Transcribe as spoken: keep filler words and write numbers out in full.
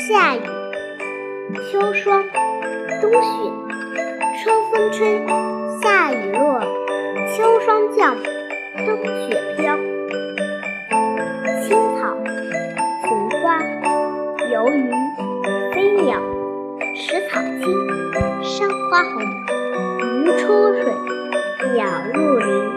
夏雨，秋霜，冬雪，春风吹，夏雨落，秋霜降，冬雪飘。青草，菊花，游鱼，飞鸟，池草青，山花红，鱼出水，鸟入林。